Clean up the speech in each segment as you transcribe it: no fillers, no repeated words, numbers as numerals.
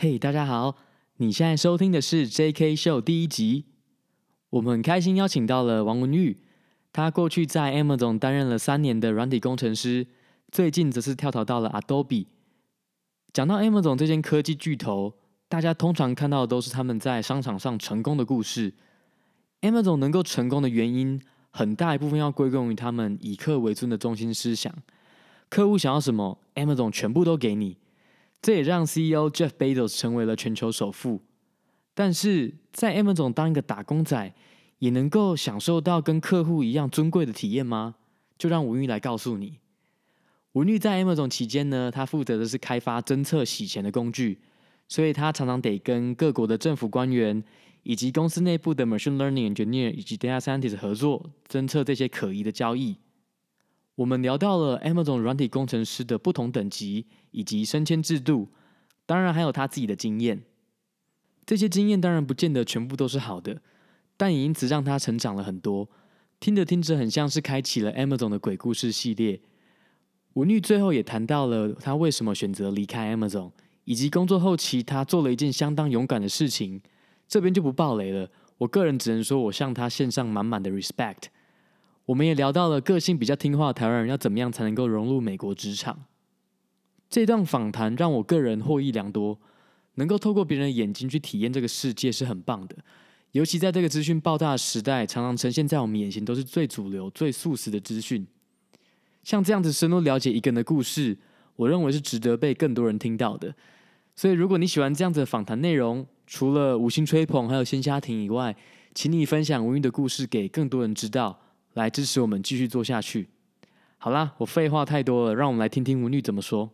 嘿，大家好，你現在收聽的是 JK Show 第一集。我們很開心邀請到了王文玉，他過去在 Amazon 擔任了3年的軟體工程師，最近則是跳槽到了 Adobe。講到 Amazon 這間科技巨頭，大家通常看到的都是他們在商場上成功的故事。Amazon 能夠成功的原因，很大一部分要歸功於他們以客為尊的中心思想。客戶想要什麼 ，Amazon 全部都給你。這也讓 CEO Jeff Bezos 成為了全球首富。但是在 Amazon 當一個打工仔，也能夠享受到跟客戶一樣尊貴的體驗嗎？就讓文玉來告訴你。文玉在 Amazon 期間呢，他負責的是開發偵測洗錢的工具，所以他常常得跟各國的政府官員以及公司內部的 Machine Learning Engineer 以及 Data Scientist 合作，偵測這些可疑的交易。我們聊到了 Amazon 軟體工程師的不同等級以及升遷制度，當然還有他自己的經驗。這些經驗當然不見得全部都是好的，但也因此讓他成長了很多。聽着聽着，很像是開啟了 Amazon 的鬼故事系列。文玉最後也談到了他為什麼選擇離開 Amazon， 以及工作後期他做了一件相當勇敢的事情。這邊就不爆雷了，我個人只能說我向他獻上滿滿的 respect。我們也聊到了個性比較聽話的台灣人要怎麼樣才能夠融入美國職場。這段訪談讓我個人獲益良多，能夠透過別人的眼睛去體驗這個世界是很棒的。尤其在這個資訊爆炸的時代，常常呈現在我們眼前都是最主流、最速食的資訊。像這樣子深入了解一個人的故事，我認為是值得被更多人聽到的。所以如果你喜歡這樣子的訪談內容，除了五星吹捧還有鮮蝦艇以外，請你分享文玉的故事給更多人知道，來支持我們繼續做下去。好啦，我廢話太多了，讓我們來聽聽文玉怎麼說。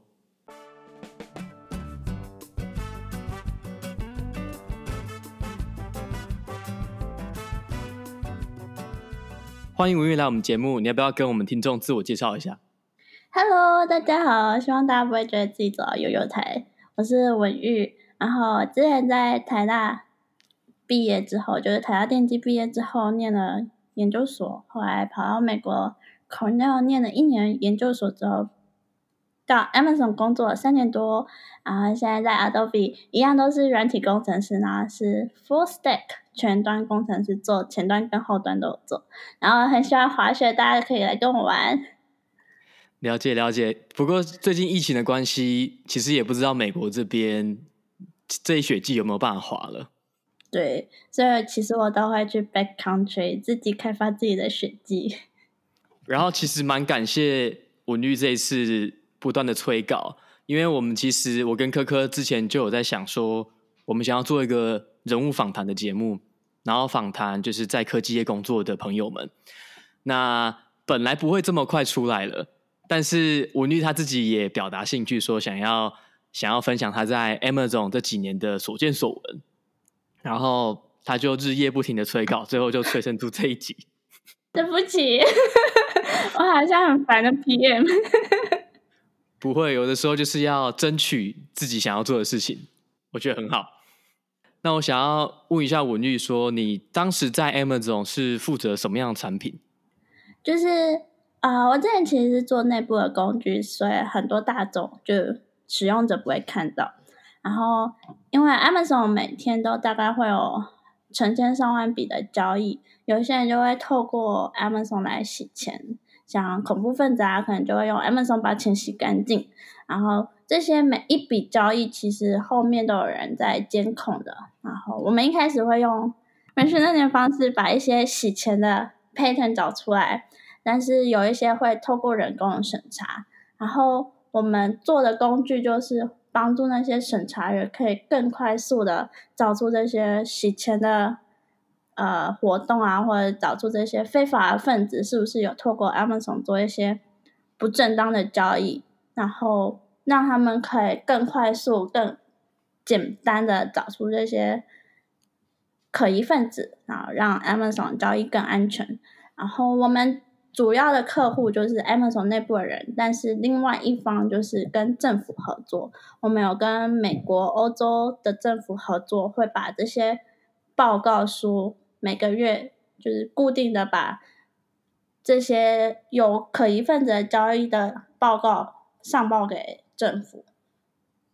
歡迎文玉來我們節目，你要不要跟我們聽眾自我介紹一下 ？Hello， 大家好，希望大家不會覺得自己走到悠悠台。我是文玉，然後之前在台大畢業之後，就是台大電機畢業之後念了研究所，後來跑到美國 Cornell 念了1年研究所之後，到 Amazon 工作了3年多，然後現在在 Adobe 一樣都是軟體工程師，然後是 Full Stack 全端工程師，做前端跟後端都有做，然後很喜歡滑雪，大家可以來跟我玩。 了解了解，不過最近疫情的關係，其實也不知道美國這邊這一雪季有沒有辦法滑了。 對，所以其實我都會去 backcountry 自己開發自己的雪季。 然後其實蠻感謝文玉這一次不斷的催稿，因為我跟科科之前就有在想說，我們想要做一個人物訪談的節目，然後訪談就是在科技業工作的朋友們。那本來不會這麼快出來了，但是文玉他自己也表達興趣，說想要分享他在 Amazon 這幾年的所見所聞。然後他就日夜不停的催稿，最後就催生出這一集。 對不起，我好像很煩的 PM。 不會，有的時候就是要爭取自己想要做的事情，我覺得很好。那我想要問一下文玉說，你當時在 Amazon 是負責什麼樣的產品？ 就是我之前其實是做內部的工具，所以很多大眾就使用者不會看到。然後，因為 Amazon 每天都大概會有成千上萬筆的交易，有些人就會透過 Amazon 來洗錢，像恐怖分子可能就會用 Amazon 把錢洗乾淨。然後這些每一筆交易其實後面都有人在監控的。然後我們一開始會用 machine learning 的方式把一些洗錢的 pattern 找出來，但是有一些會透過人工的審查。然後我們做的工具就是幫助那些審查員可以更快速的找出這些洗錢的活動或者找出這些非法的分子是不是有透過 Amazon 做一些不正當的交易，然後讓他們可以更快速、更簡單的找出這些可疑分子，然後讓 Amazon 交易更安全。然後我們主要的客戶就是 Amazon 內部的人，但是另外一方就是跟政府合作。我們有跟美國、歐洲的政府合作，會把這些報告書每個月就是固定的把這些有可疑分子的交易的報告上報給政府。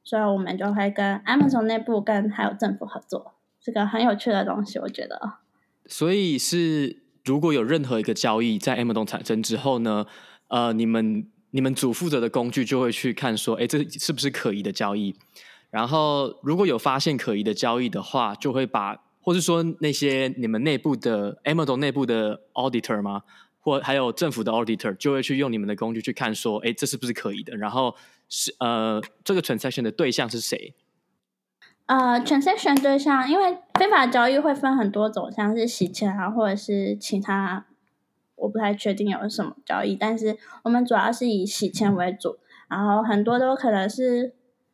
所以我們就會跟 Amazon 內部跟還有政府合作，是個很有趣的東西，我覺得。 所以是如果有任何一個交易在 Amazon 產生之後呢，你們主負責的工具就會去看說，這是不是可疑的交易？然後如果有發現可疑的交易的話，就會把，或是說那些你們內部的 Amazon 內部的 auditor 嗎？或還有政府的 auditor 就會去用你們的工具去看說，這是不是可疑的？然後這個 transaction 的對象是誰 ？transaction 對象，因為非法交易會分很多種，像是洗錢啊，或者是其他，我不太確定有什麼交易，但是我們主要是以洗錢為主，然後很多都可能是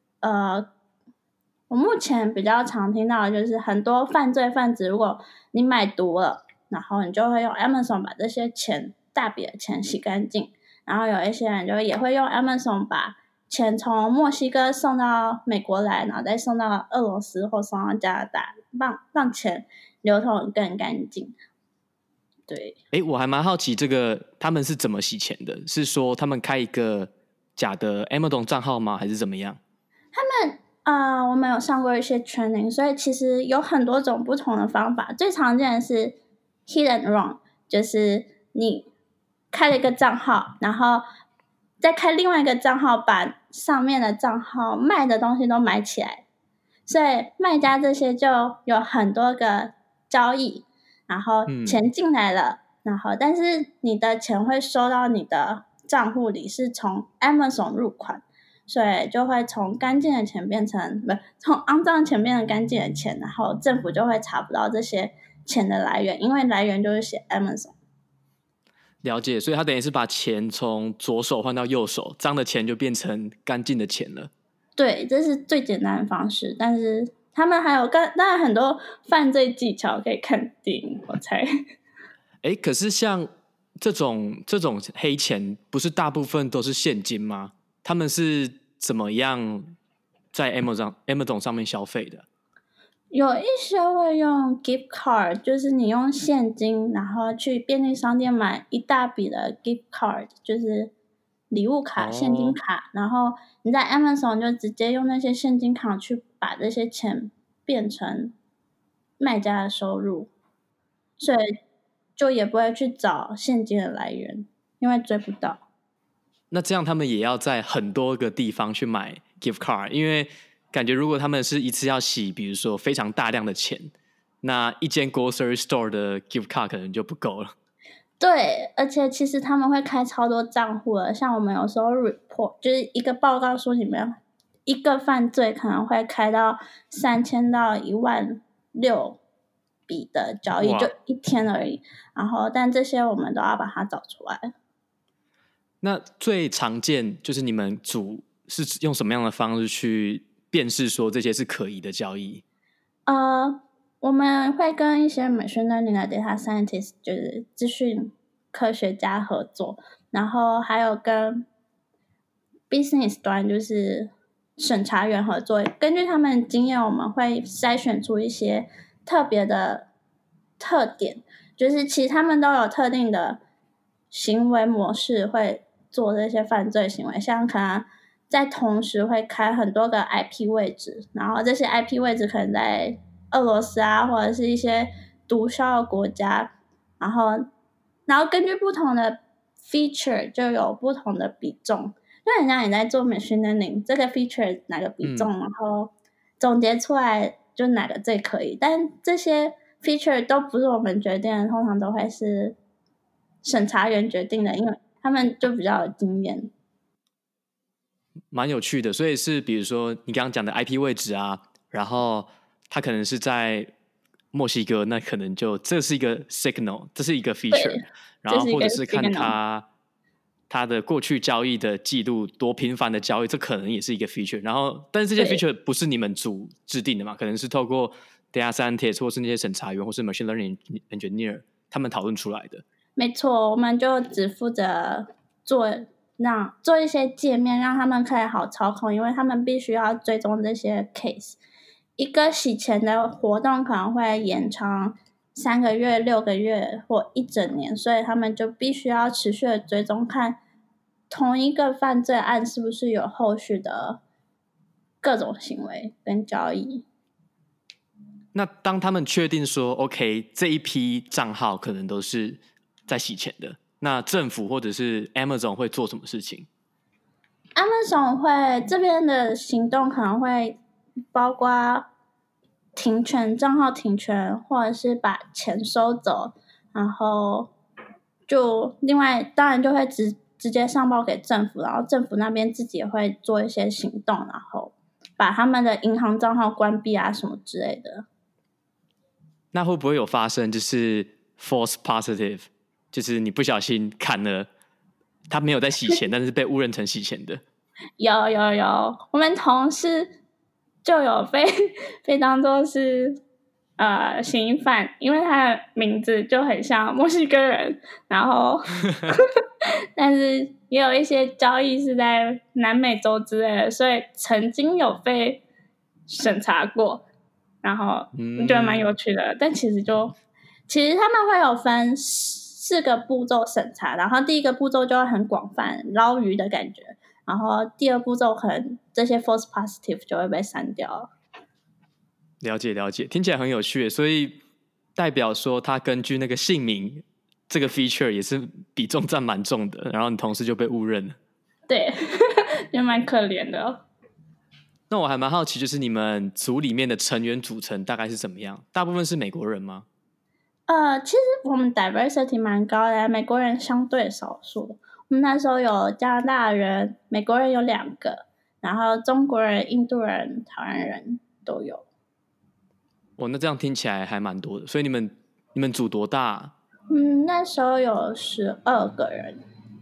我目前比較常聽到的就是很多犯罪分子，如果你買毒了，然後你就會用 Amazon 把這些錢大筆的錢洗乾淨，然後有一些人就也會用 Amazon 把錢從墨西哥送到美國來，然後再送到俄羅斯或送到加拿大，讓錢流通更乾淨。對， 我還蠻好奇這個他們是怎麼洗錢的？是說他們開一個假的 Amazon 賬號嗎？還是怎麼樣？ 他們我們有上過一些 training， 所以其實有很多種不同的方法。最常見的是 hit and run， 就是你開了一個賬號，然後再開另外一個賬號，把上面的賬號賣的東西都買起來。所以賣家這些就有很多個交易，然後錢進來了，然後但是你的錢會收到你的賬戶裡，是從 Amazon 入款。所以就會從乾淨的錢變成從骯髒的錢變成乾淨的錢，然後政府就會查不到這些錢的來源，因為來源就是寫 Amazon。 了解，所以他等於是把錢從左手換到右手，髒的錢就變成乾淨的錢了。 對，這是最簡單的方式，但是他們還有當然很多犯罪技巧可以看電影，我猜。 可是像這種黑錢，不是大部分都是現金嗎？他們是怎麼樣在 Amazon 上面消費的？ 有一些會用 gift card， 就是你用現金，然後去便利商店買一大筆的 gift card， 就是禮物卡、現金卡，然後你在 Amazon 就直接用那些現金卡去把這些錢變成賣家的收入，所以就也不會去找現金的來源，因為追不到。 那這樣他們也要在很多個地方去買 gift card， 因為感覺如果他們是一次要洗，比如說非常大量的錢，那一間 grocery store 的 gift card 可能就不夠了。 對，而且其實他們會開超多賬戶的，像我們有時候 report 就是一個報告書裡面，一個犯罪可能會開到3000到16000筆的交易，就一天而已。然後，但這些我們都要把它找出來。 那最常見就是你們組是用什麼樣的方式去辨識說這些是可疑的交易？ 我們會跟一些 machine learning 的 data scientist， 就是資訊科學家合作，然後還有跟 business 端就是審查員合作。根據他們的經驗，我們會篩選出一些特別的特點，就是其實他們都有特定的行為模式會做這些犯罪行為，像可能在同時會開很多個 IP 位置，然後這些 IP 位置可能在俄羅斯啊，或者是一些毒梟的國家，然後根據不同的 feature 就有不同的比重，就很像你在做 machine learning， 這個 feature 哪個比重，然後總結出來就哪個最可以，但這些 feature 都不是我們決定的，通常都會是審查員決定的，因為他們就比較有經驗。 蠻有趣的，所以是比如說你剛剛講的 IP 位置啊，然後它可能是在墨西哥，那可能就這是一個 signal， 這是一個 feature， 然後或者是看他的過去交易的記錄多頻繁的交易，這可能也是一個 feature。然後，但是這些 feature 不是你們組制定的嘛？可能是透過 data scientist 或是那些審查員或是 machine learning engineer 他們討論出來的。 沒錯，我們就只負責做一些界面，讓他們可以好操控，因為他們必須要追蹤這些 case。一個洗錢的活動可能會延長3個月、6個月或1整年，所以他們就必須要持續的追蹤，看同一個犯罪案是不是有後續的各種行為跟交易。 那當他們確定說 OK 這一批賬號可能都是在洗錢的，那政府或者是 Amazon 會做什麼事情？ Amazon 會這邊的行動可能會包括停權，賬號停權，或者是把錢收走，然後就另外當然就會直接上報給政府，然後政府那邊自己也會做一些行動，然後把他們的銀行賬號關閉啊什麼之類的。 那會不會有發生就是 false positive， 就是你不小心砍了他没有在洗錢但是被誤認成洗錢的？ 有，我們同事就有被當作是嫌疑犯，因為他的名字就很像墨西哥人，然後但是也有一些交易是在南美洲之類的，所以曾經有被審查過，然後我覺得蠻有趣的。但其實他們會有分4個步驟審查，然後第一個步驟就會很廣泛，撈魚的感覺，然後第二步驟可能這些 false positive 就會被刪掉了。 了解，聽起來很有趣，所以代表說他根據那個姓名這個 feature 也是比重占蠻重的，然後你同事就被誤認了。對， 也蠻可憐的哦。 那我還蠻好奇，就是你們組裡面的成員組成大概是怎麼樣？大部分是美國人嗎？ 其實我們 diversity 蠻高的，美國人相對少數。我們那時候有加拿大人、美國人有2個，然後中國人、印度人、台灣人都有。 那這樣聽起來還蠻多的。所以你們組多大？ 那時候有12個人。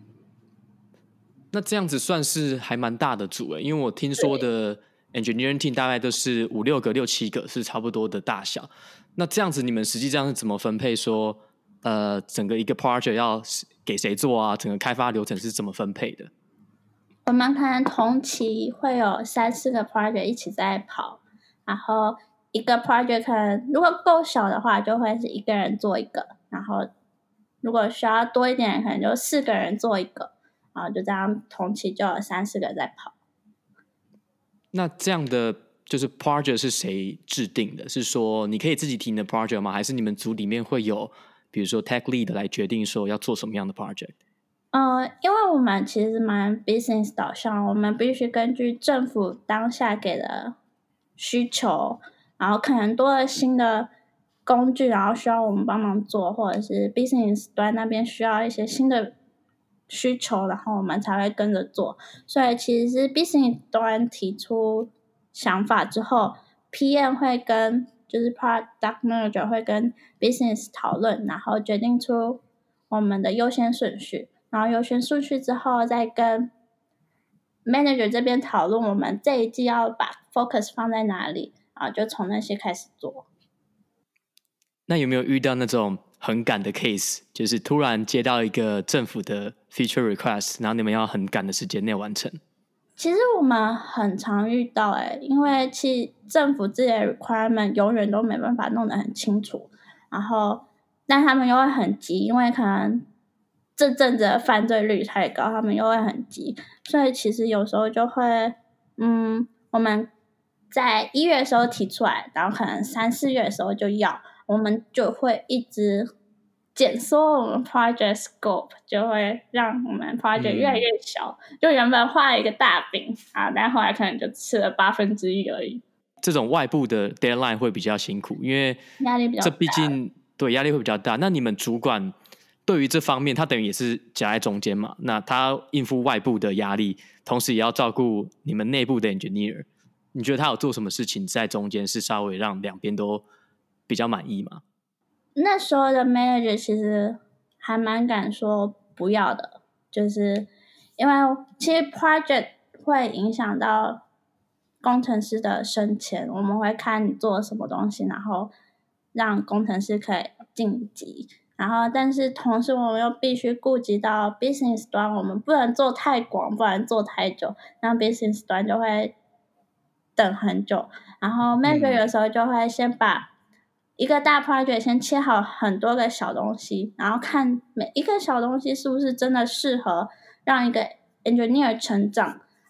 那這樣子算是還蠻大的組耶，因為我聽說的 engineering team 大概都是5-6個、6-7個是差不多的大小。那這樣子你們實際上是怎麼分配說整個一個 project 要給誰做啊？整個開發流程是怎麼分配的？ 我們可能同期會有3-4個 project 一起在跑，然後一個 project 可能如果夠小的話就會是1個人做一個，然後如果需要多一點可能就4個人做一個，然後就這樣同期就有3-4個在跑。 那這樣的就是 project 是誰制定的？是說你可以自己提你的 project 嗎？還是你們組裡面會有比如說 tech lead 來決定說要做什麼樣的 project？ 因為我們其實蠻 business 導向，我們必須根據政府當下給的需求，然後可能多了新的工具，然後需要我們幫忙做，或者是 business 端那邊需要一些新的需求，然後我們才會跟着做。所以其實是 business 端提出想法之後 ，PM 會跟就是 product manager 會跟 business 討論，然後決定出我們的優先順序。然後優先順序之後，再跟 manager 這邊討論我們這一季要把 focus 放在哪裡，然後就從那些開始做。 那有沒有遇到那種很趕的 case， 就是突然接到一個政府的 feature request， 然後你們要很趕的時間內完成？ 其實我們很常遇到因為其實政府自己的 requirement 永遠都沒辦法弄得很清楚，然後但他們又會很急，因為可能這陣子的犯罪率太高，他們又會很急，所以其實有時候就會我們在1月的時候提出來，然後可能3-4月的時候就要，我們就會一直減縮我們 project scope， 就會讓我們 project 越來越小，就原本畫了一個大餅啊，但後來可能就吃了1/8而已。 這種外部的 deadline 會比較辛苦，因為壓力比較大， 這畢竟對壓力會比較大。那你們主管對於這方面，他等於也是夾在中間嘛，那他應付外部的壓力，同時也要照顧你們內部的 engineer。你覺得他有做什麼事情在中間是稍微讓兩邊都比較滿意嗎？ 那時候的 manager 其實還蠻敢說不要的，就是因為其實 project 會影響到工程師的升遷，我們會看你做什麼東西，然後讓工程師可以晉級。然後，但是同時我們又必須顧及到 business 端，我們不能做太廣，不能做太久，然後 business 端就會等很久。然後 manager 有時候就會先把一個大 project 先切好很多個小東西，然後看每一個小東西是不是真的適合讓一個 engineer 成長，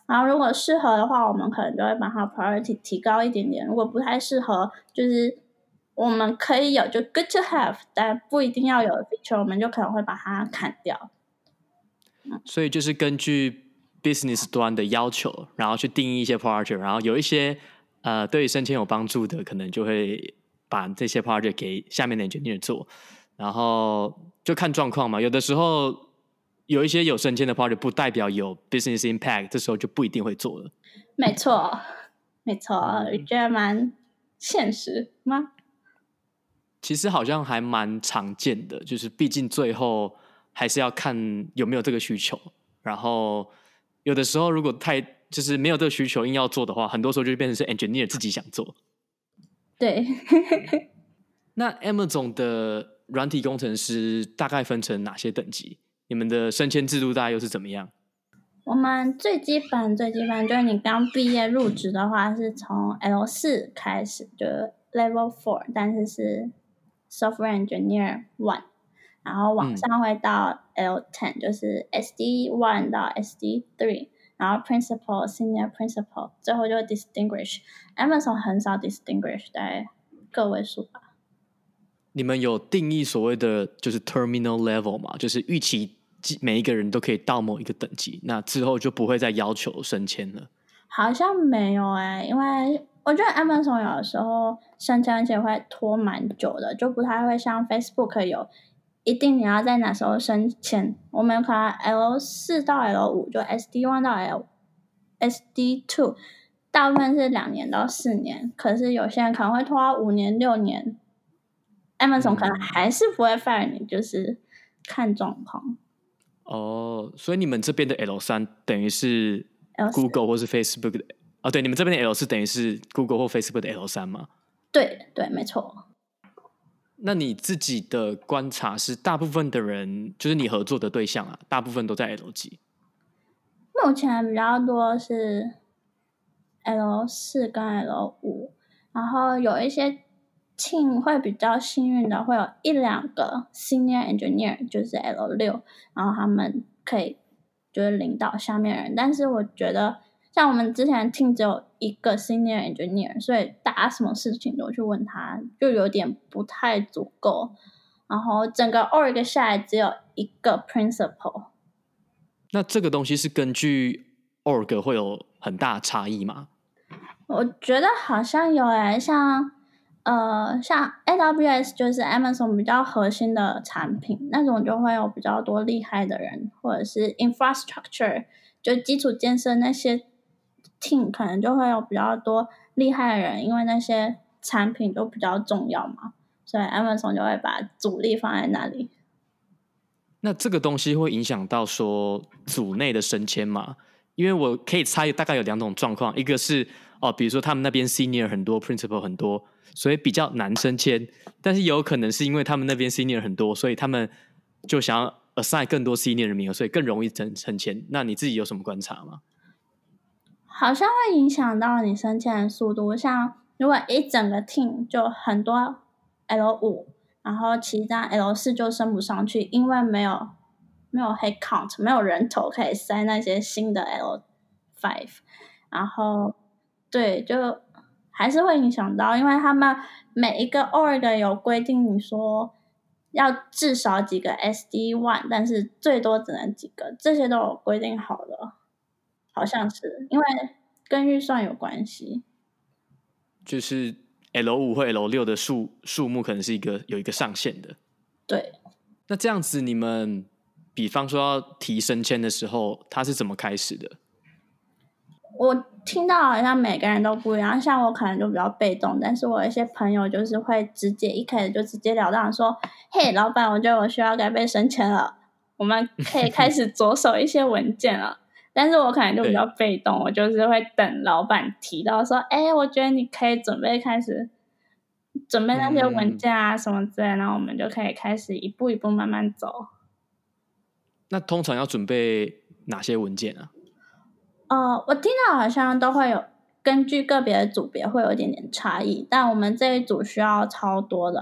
然後如果適合的話，我們可能就會把它 priority 提高一點點。如果不太適合，就是我們可以有就 good to have， 但不一定要有的 feature， 我們就可能會把它砍掉。 所以就是根據 business 端的要求，然後去定義一些 project， 然後有一些對升遷有幫助的，可能就會把這些 project 給下面的 engineer 做，然後就看狀況嘛。有的時候有一些有升遷的 project 不代表有 business impact， 這時候就不一定會做了。沒錯， 沒錯，我覺得蠻現實嗎？ 其實好像還蠻常見的，就是畢竟最後還是要看有沒有這個需求，然後有的時候如果就是沒有這個需求硬要做的話，很多時候就變成是 engineer 自己想做。對。那 Amazon 的軟體工程師大概分成哪些等級？你們的升遷制度大概又是怎麼樣？ 我們最基本就是你剛畢業入職的話，是從 L4 開始，就是 Level 4，但是 Software Engineer 1， 然後往上會到 L10，就是 SD1 到 SD3， 然後 Principal、Senior Principal， 最後就 Distinguished。Amazon 很少 Distinguished， 大概個位數吧。你們有定義所謂的就是 Terminal Level 嗎？就是預期每一個人都可以到某一個等級，那之後就不會再要求升遷了。好像沒有因為我覺得 Amazon 有的時候升遷而且會拖蠻久的，就不太會像 Facebook 有一定你要在哪時候升遷。我們可能 L4 到 L5， 就 SD1 到 SD2， 大部分是2年到4年，可是有些人可能會拖到5年6年。Amazon 可能還是不會 fire 你，就是看狀況。哦，所以你們這邊的 L3 等於是 Google 或是 Facebook 的對，你們這邊的 L4 等於是 Google 或 Facebook 的 L3 嗎？對對，沒錯。那你自己的觀察是，大部分的人就是你合作的對象大部分都在 L 幾？目前比較多是 L4 跟 L5， 然後有一些team 會比較幸運的，會有1-2個 senior engineer， 就是 L6， 然後他們可以就是領導下面人。但是我覺得像我們之前 team 只有1個 senior engineer， 所以大家什麼事情都去問他，就有點不太足夠。然後整個 org 下來只有1個 principal。那這個東西是根據 org 會有很大的差異嗎？我覺得好像有像 AWS 就是 Amazon 比較核心的產品，那種就會有比較多厲害的人，或者是 infrastructure 就基礎建設那些 team 可能就會有比較多厲害的人，因為那些產品都比較重要嘛，所以 Amazon 就會把主力放在那裡。那這個東西會影響到說組內的升遷嗎？因為我可以猜大概有2種狀況，一個是比如說他們那邊 senior 很多 principal 很多，所以比較難升遷，但是有可能是因為他們那邊 senior 很多，所以他們就想要 assign 更多 senior 的名額，所以更容易升遷。那你自己有什麼觀察嗎？好像會影響到你升遷的速度，像如果一整個 team 就很多 L5， 然後其他 L4 就升不上去，因為沒有 head count， 沒有人頭可以塞那些新的 L5， 然後對，就還是會影響到，因為他們每一個 org 有規定，你說要至少幾個 SD1， 但是最多只能幾個，這些都有規定好的，好像是因為跟預算有關係。就是 L5 或 L6 的數目可能是有一個上限的。對。那這樣子，你們比方說要提升遷的時候，它是怎麼開始的？我聽到好像每個人都不一樣，像我可能就比較被動，但是我有一些朋友就是會一開始就直截了當的說嘿，老闆，我覺得我需要該被升遷了，我們可以開始着手一些文件了。但是我可能就比較被動，我就是會等老闆提到說我覺得你可以開始準備那些文件啊什麼之類的，然後我們就可以開始一步一步慢慢走。那通常要準備哪些文件啊？我聽到好像都會有根據個別的組別會有一點點差異，但我們這一組需要超多的。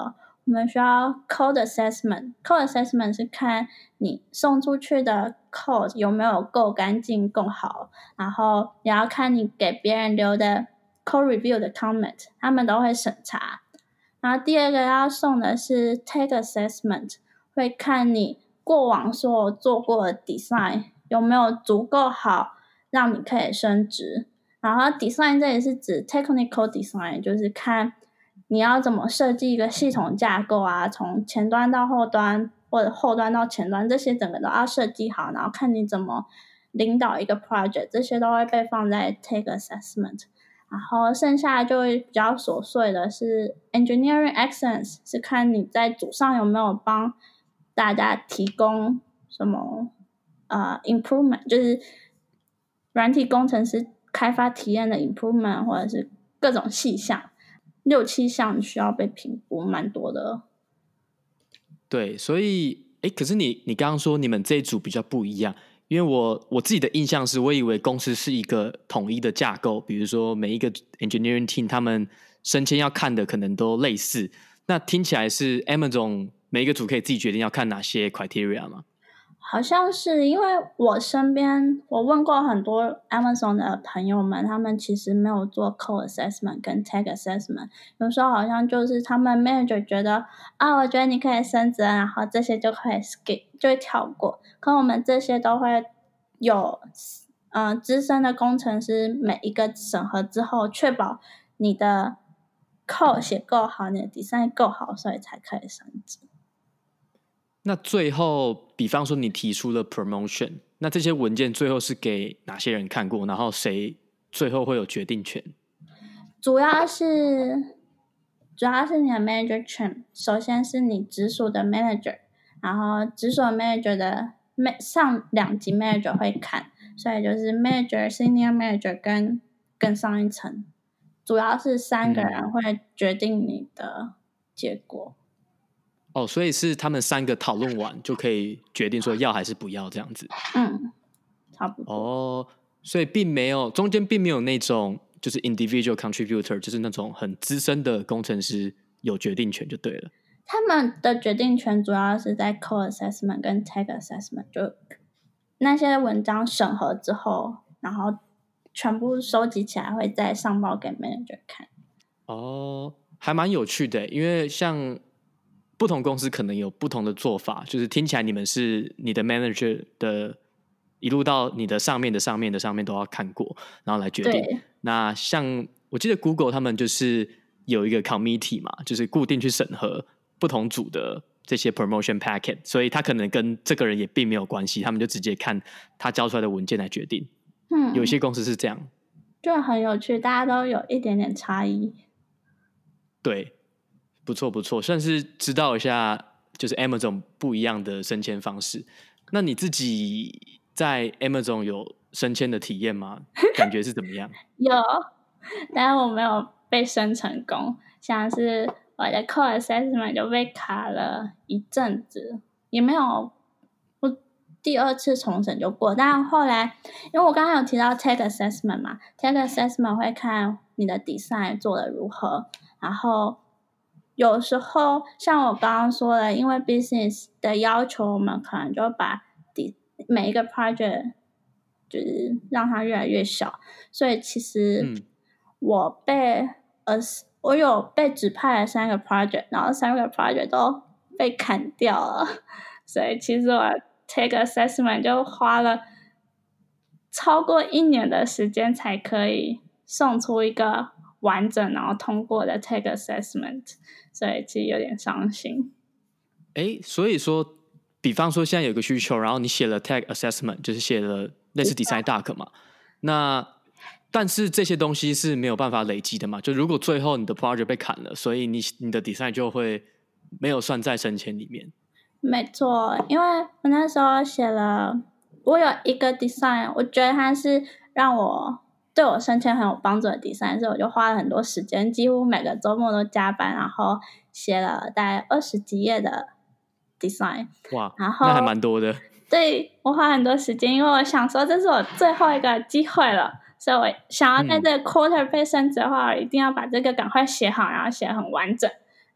我們需要 code assessment。code assessment 是看你送出去的 code 有沒有夠乾淨、夠好，然後也要看你給別人留的 code review 的 comment， 他們都會審查。然後第二個要送的是 tech assessment， 會看你過往所有做過的 design 有沒有足夠好，讓你可以升職。然後 design 這裡是指 technical design， 就是看你要怎麼設計一個系統架構啊，從前端到後端，或者後端到前端，這些整個都要設計好，然後看你怎麼領導一個 project， 這些都會被放在 tech assessment。然後剩下就會比較瑣碎的是 engineering excellence， 是看你在組上有沒有幫大家提供什麼improvement， 就是軟體工程師開發體驗的 improvement， 或者是各種細項，6-7項需要被評估，蠻多的。 對，所以可是你剛剛說你們這一組比較不一樣，因為我自己的印象是我以為公司是一個統一的架構，比如說每一個 engineering team 他們升遷要看的可能都類似，那聽起來是 Amazon 每一個組可以自己決定要看哪些 criteria 嗎？ 好像是，因為我身邊我問過很多 Amazon 的朋友們，他們其實沒有做 code assessment 跟 tech assessment， 有時候好像就是他們 manager 覺得我覺得你可以升職，然後這些就可以 skip 就會跳過，可我們這些都會有資深的工程師每一個審核之後，確保你的 code 寫夠好，你的 design 夠好，所以才可以升職。 那最後比方說你提出了 promotion， 那這些文件最後是給哪些人看過，然後誰最後會有決定權？ 主要是你的 manager team， 首先是你直屬的 manager， 然後直屬的 manager 的上2級 manager 會看，所以就是 manager senior manager 跟更上一層，主要是3個人會決定你的結果。 所以是他們3個討論完就可以決定說要還是不要這樣子。 差不多。 所以中間並沒有那種就是 individual contributor， 就是那種很資深的工程師有決定權就对了。 他們的決定權主要是在 code assessment 跟 tech assessment， 就那些文章審核之後，然後全部收集起來會再上報給 manager 看。 還蠻有趣的，因為像不同公司可能有不同的做法，就是聽起來你們是你的 manager 的一路到你的上面的上面的上面都要看過，然後來決定。那像我記得 Google 他們就是有一個 committee 嘛，就是固定去審核不同組的這些 promotion packet， 所以他可能跟這個人也並沒有關係，他們就直接看他交出來的文件來決定。有一些公司是這樣， 就很有趣，大家都有一點點差異。 對。不錯不錯，算是知道一下就是 Amazon 不一樣的升遷方式。那你自己在 Amazon 有升遷的體驗嗎？感覺是怎麼樣？ 有，但是我沒有被升成功，像是我的 code assessment 就被卡了一陣子，也沒有，我第2次重審就過。但後來因為我剛剛有提到 tech assessment 嘛， tech assessment 會看你的 design 做得如何，然後有時候像我剛剛說的，因為 business 的要求，我們可能就把每一個 project 就是讓它越來越小，所以其實我有被指派了3個 project， 然後3個 project 都被砍掉了，所以其實我 take assessment 就花了超過1年的時間才可以送出一個完整然後通過的 take assessment， 所以其實有點傷心。 所以說比方說現在有個需求，然後你寫了 take assessment， 就是寫了類似 design doc 嘛，那但是這些東西是沒有辦法累積的嘛，就如果最後你的 project 被砍了，所以你的 design 就會沒有算在升遷裡面。 沒錯，因為我那時候我有一個 design， 我覺得它是對我升遷很有幫助的 design， 所以我就花了很多時間，幾乎每個週末都加班，然後寫了大概20幾頁的 design。哇，然後那還蠻多的。對， 我花很多時間，因為我想說這是我最後一個機會了，所以我想要在這個 quarter 被升職的話，我一定要把這個趕快寫好，然後寫很完整。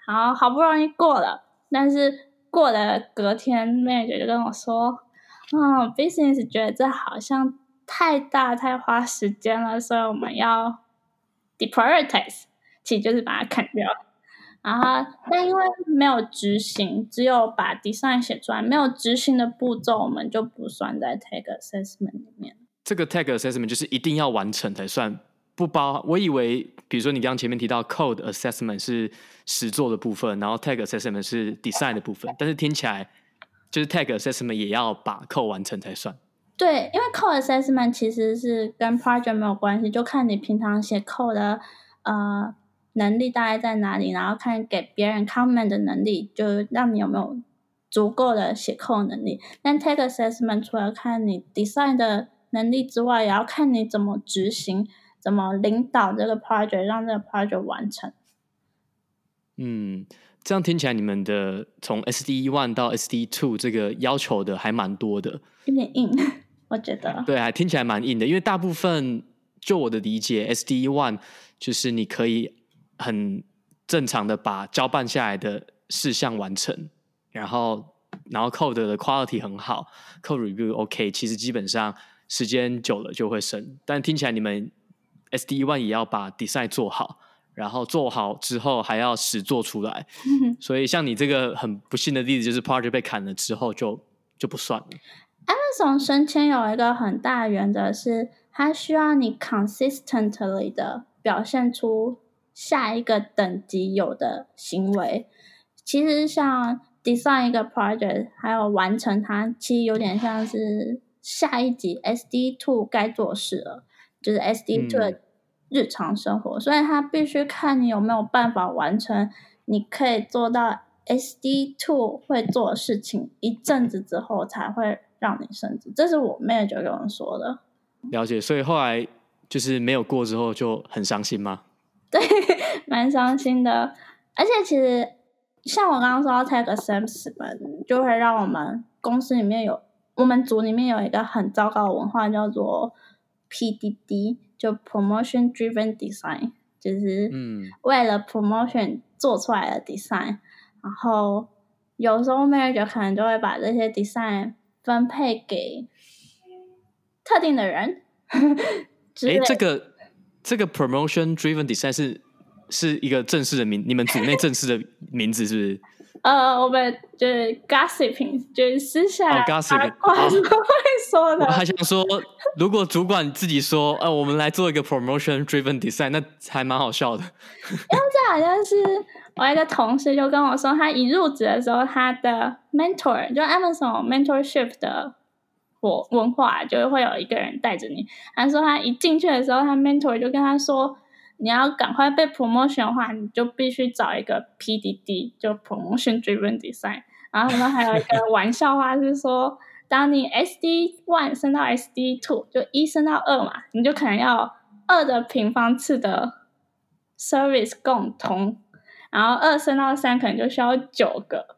好不容易過了，但是過了隔天 manager 就跟我說business 覺得這好像太大太花時間了，所以我們要 deprioritize， 其實就是把它砍掉。然後但因為沒有執行，只有把 design 寫出來，沒有執行的步驟我們就不算在 tag assessment 裡面。 這個 tag assessment 就是一定要完成才算，不包。我以為比如說你剛剛前面提到 code assessment 是實作的部分，然後 tag assessment 是 design 的部分，但是听起來就是 tag assessment 也要把 code 完成才算。 對，因為 code assessment 其實是跟 project 沒有關係，就看你平常寫 code 的能力大概在哪裡，然後看給別人 comment 的能力，就讓你有沒有足夠的寫 code 能力。但 tag assessment 除了看你 design 的能力之外，也要看你怎麼執行，怎麼領導這個 project， 讓這個 project 完成。 這樣聽起來你們的從 SD1 到 SD2 這個要求的還蠻多的， 有點硬，我覺得。 對，還聽起來蠻硬的，因為大部分就我的理解 SD1 就是你可以很正常的把交辦下來的事項完成，然後 code 的 quality 很好， code review OK， 其實基本上時間久了就會升。但聽起来你們 SD1 也要把 design 做好，然後做好之後還要實做出来，所以像你這個很不幸的例子，就是 project 被砍了之後就不算了。 Amazon 升遷有一個很大的原則是，它需要你 consistently 的表現出下一個等級有的行為。其實像 design 一個 project 還有完成它，其實有點像是下一級 SD2 該做事了，就是 SD2 的日常生活，所以它必須看你有沒有辦法完成，你可以做到 SD2 會做的事情，一陣子之後才會讓你升職。這是我妹就跟我說的。 了解，所以後來就是沒有過之後就很傷心嗎？ 對，蠻傷心的。而且其實像我剛剛說到 tag assessment， 就會讓我們公司裡面我們組裡面有一個很糟糕的文化，叫做 PDD， 就 promotion driven design， 就是為了 promotion 做出來的 design，然後有時候 manager 可能就會把這些 design 分配給特定的人。 這個 promotion driven design 是一個正式的名，你們組內正式的名字是不是？ 我們就是 gossiping， 就是私下 gossiping 八卦會說的。 我還想說，如果主管自己說，我們來做一個 promotion driven design， 那還蠻好笑的。 因為這好像是我一個同事就跟我說，他一入職的時候，他的 mentor 就 Amazon mentorship 的文化，就會有一個人帶着你。他說他一進去的時候，他 mentor 就跟他說，你要趕快被 promotion 的話，你就必須找一個 PDD， 就 promotion driven design。然後他們還有一個玩笑話是說，當你 SD1 升到 SD2， 就1升到2嘛，你就可能要2的平方次的 service 共通，然後2升到3可能就需要9個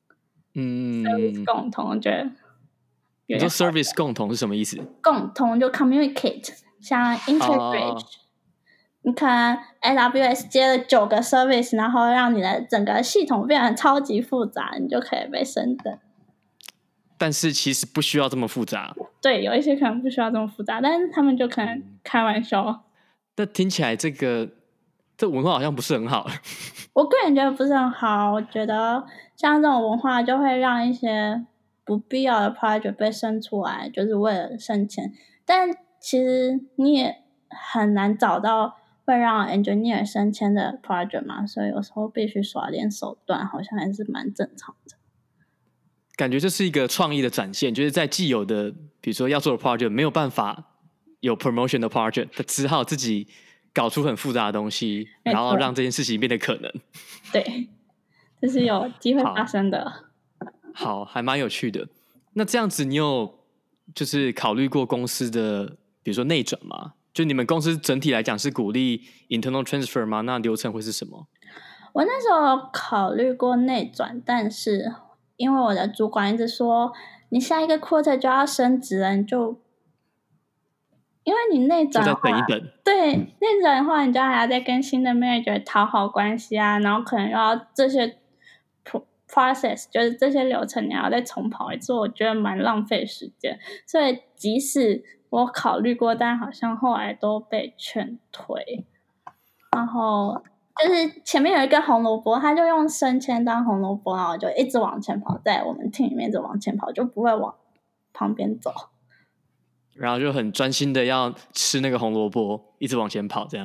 service 共通。我覺得你說 service 共同是什麼意思？ 共通就 communicate， 像 integrate，你可能 AWS 接了9個 service， 然後讓你的整個系統變得超級複雜，你就可以被升等。 但是其實不需要這麼複雜。對， 有一些可能不需要這麼複雜，但是他們就可能開玩笑。 但聽起來這文化好像不是很好。 我個人覺得不是很好，我覺得像這種文化就會讓一些不必要的 project 被生出來，就是為了升遷。但其實你也很難找到會讓 engineer 升遷的 project 嘛，所以有時候必須耍點手段，好像還是蠻正常的。 感覺這是一個創意的展現，就是在既有的比如說要做的 project 沒有辦法有 promotion 的 project， 他只好自己搞出很複雜的東西，然後讓這件事情變得可能。對， 這是有機會發生的。 好，還蠻有趣的。那這樣子你有就是考慮過公司的比如說內轉嗎？就你們公司整體來講是鼓勵 internal transfer 嗎？那流程會是什麼？ 我那時候考慮過內轉，但是因為我的主管一直說你下一個 quarter 就要升職了，你就因為你內轉的話， 就再等一等。 對，內轉的話，你就還要再跟新的 manager 討好關係啊，然後可能要這些 process 就是這些流程你要再重跑一次，我覺得蠻浪費時間。所以即使我考慮過，但好像後來都被勸退。然後就是前面有一個紅蘿蔔，他就用升遷當紅蘿蔔，然後就一直往前跑，在我們 team 裡面一直往前跑，就不會往旁邊走。 然後就很專心的要吃那個紅蘿蔔，一直往前跑，這樣。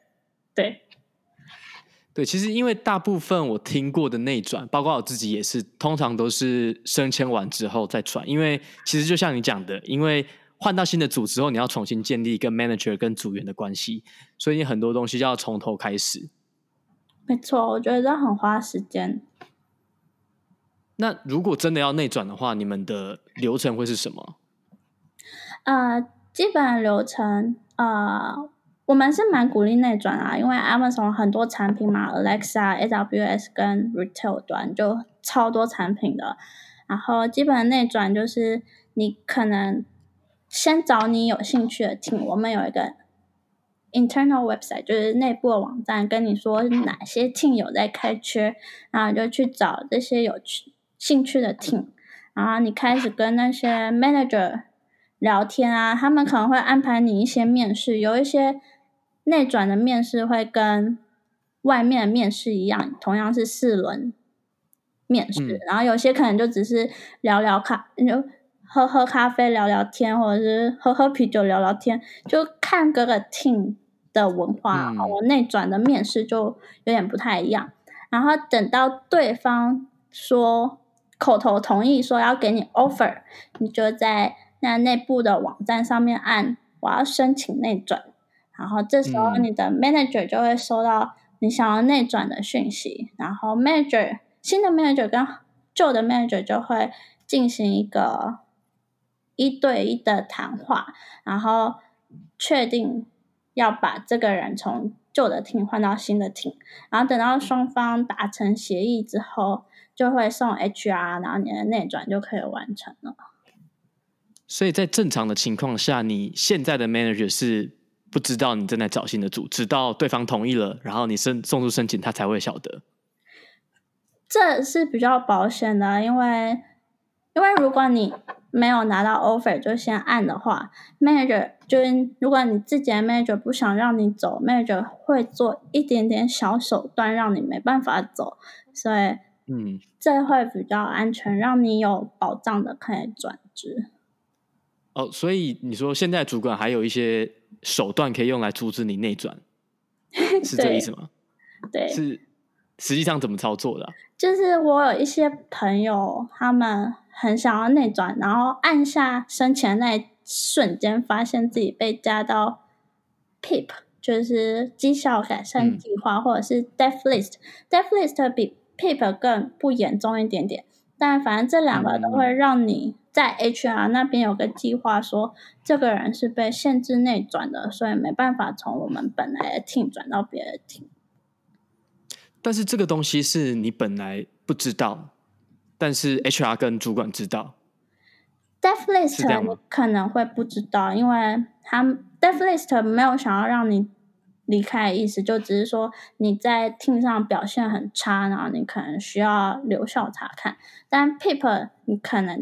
對，其實因為大部分我聽過的內轉，包括我自己也是，通常都是升遷完之後再轉。因為其實就像你講的，因為換到新的組之後，你要重新建立跟 manager 跟組員的關係，所以你很多東西就要從頭開始。 沒錯，我覺得這很花時間。 那如果真的要內轉的話，你們的流程會是什麼？ 基本流程，我們是蠻鼓勵內轉啊，因為 Amazon 很多產品嘛 ，Alexa、AWS 跟 Retail 端就超多產品的。然後基本的內轉就是你可能先找你有興趣的 team， 我們有一個 internal website， 就是內部的網站，跟你說哪些 team 有在開缺，然後你就去找這些有興趣的 team， 然後你開始跟那些 manager 聊天啊，他們可能會安排你一些面試，有一些內轉的面試會跟外面的面試一樣，同樣是4輪面試，然後有些可能就只是聊聊就喝喝咖啡聊聊天，或者是喝喝啤酒聊聊天，就看各個 team 的文化。我內轉的面試就有點不太一樣，然後等到對方說口頭同意說要給你 offer， 你就在那內部的網站上面按我要申請內轉，然後這時候你的 manager 就會收到你想要內轉的訊息，然後新的 manager 跟舊的 manager 就會進行一個1對1的談話，然後確定要把這個人從舊的 team 換到新的 team， 然後等到雙方達成協議之後，就會送 HR， 然後你的內轉就可以完成了。 所以在正常的情況下，你現在的 manager 是不知道你正在找新的組，直到對方同意了，然後你送出申請，他才會曉得。 這是比較保險的，因為如果你沒有拿到 offer 就先按的話， manager 就是如果你自己的 manager 不想讓你走， manager 會做一點點小手段讓你沒辦法走，所以這會比較安全，讓你有保障的可以轉職。 所以你說現在主管還有一些手段可以用來阻止你內轉，是這意思嗎？ 對， 是實際上怎麼操作的啊？ 就是我有一些朋友，他們很想要內轉，然後按下申請的那一瞬間，發現自己被加到 PIP， 就是績效改善計劃，或者是 Death List。Death List 比 PIP 更不嚴重一點點，但反正這兩個都會讓你在 HR 那邊有個計劃說，這個人是被限制內轉的，所以沒辦法從我們本來的 team 轉到別的 team。 但是這個東西是你本來不知道，但是 HR 跟主管知道。 Death List 你可能會不知道，因為Death List 沒有想要讓你離開的意思，就只是說你在 team 上表現很差，然後你可能需要留校察看。但 PIP 你可能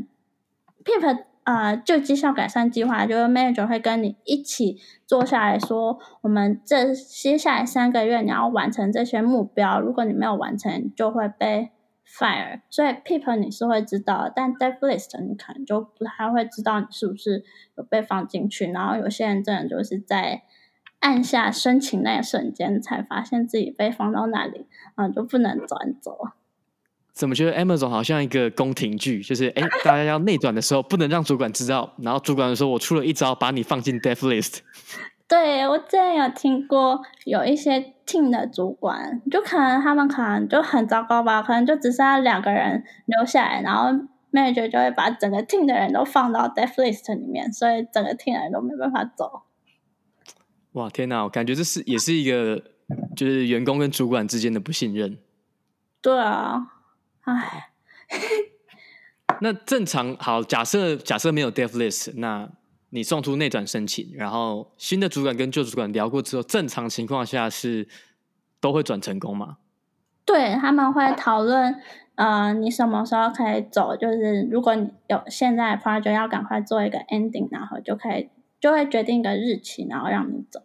PIP 就績效改善計劃，就是 manager 會跟你一起坐下來說，我們接下來3個月你要完成這些目標，如果你沒有完成就會被 fire。所以 PIP 你是會知道的，但 Death List 你可能就不太會知道你是不是有被放進去，然後有些人真的就是在按下申請那一瞬間才發現自己被放到那裡，然後就不能轉走。 怎麼覺得 Amazon 好像一個宮廷劇，就是大家要內轉的時候不能讓主管知道，然後主管說我出了一招把你放進 Death List。 對，我之前有聽過有一些 team 的主管，就他们可能就很糟糕吧，可能就只剩下2個人留下來，然後 manager 就會把整個 team 的人都放到 Death List 裡面，所以整個 team 的人都沒辦法走。 哇，天哪，我感覺這也是一個就是員工跟主管之間的不信任。 對啊， 那正常好，假設沒有 Death List，那你送出內轉申請，然後新的主管跟舊主管聊過之後，正常情況下是都會轉成功嗎？ 對，他們會討論，你什麼時候可以走？就是如果你有現在的 project 要趕快做一個 ending， 然後就會決定一個日期，然後讓你走。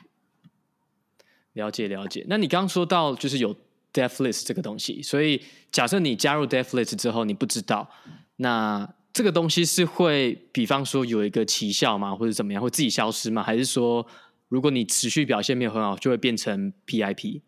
了解。那你剛剛說到就是有 death list 這個東西，所以假設你加入 death list 之後，你不知道，那這個東西是會，比方說有一個期效嗎？或者怎麼樣，會自己消失嗎？還是說，如果你持續表現沒有很好，就會變成 PIP？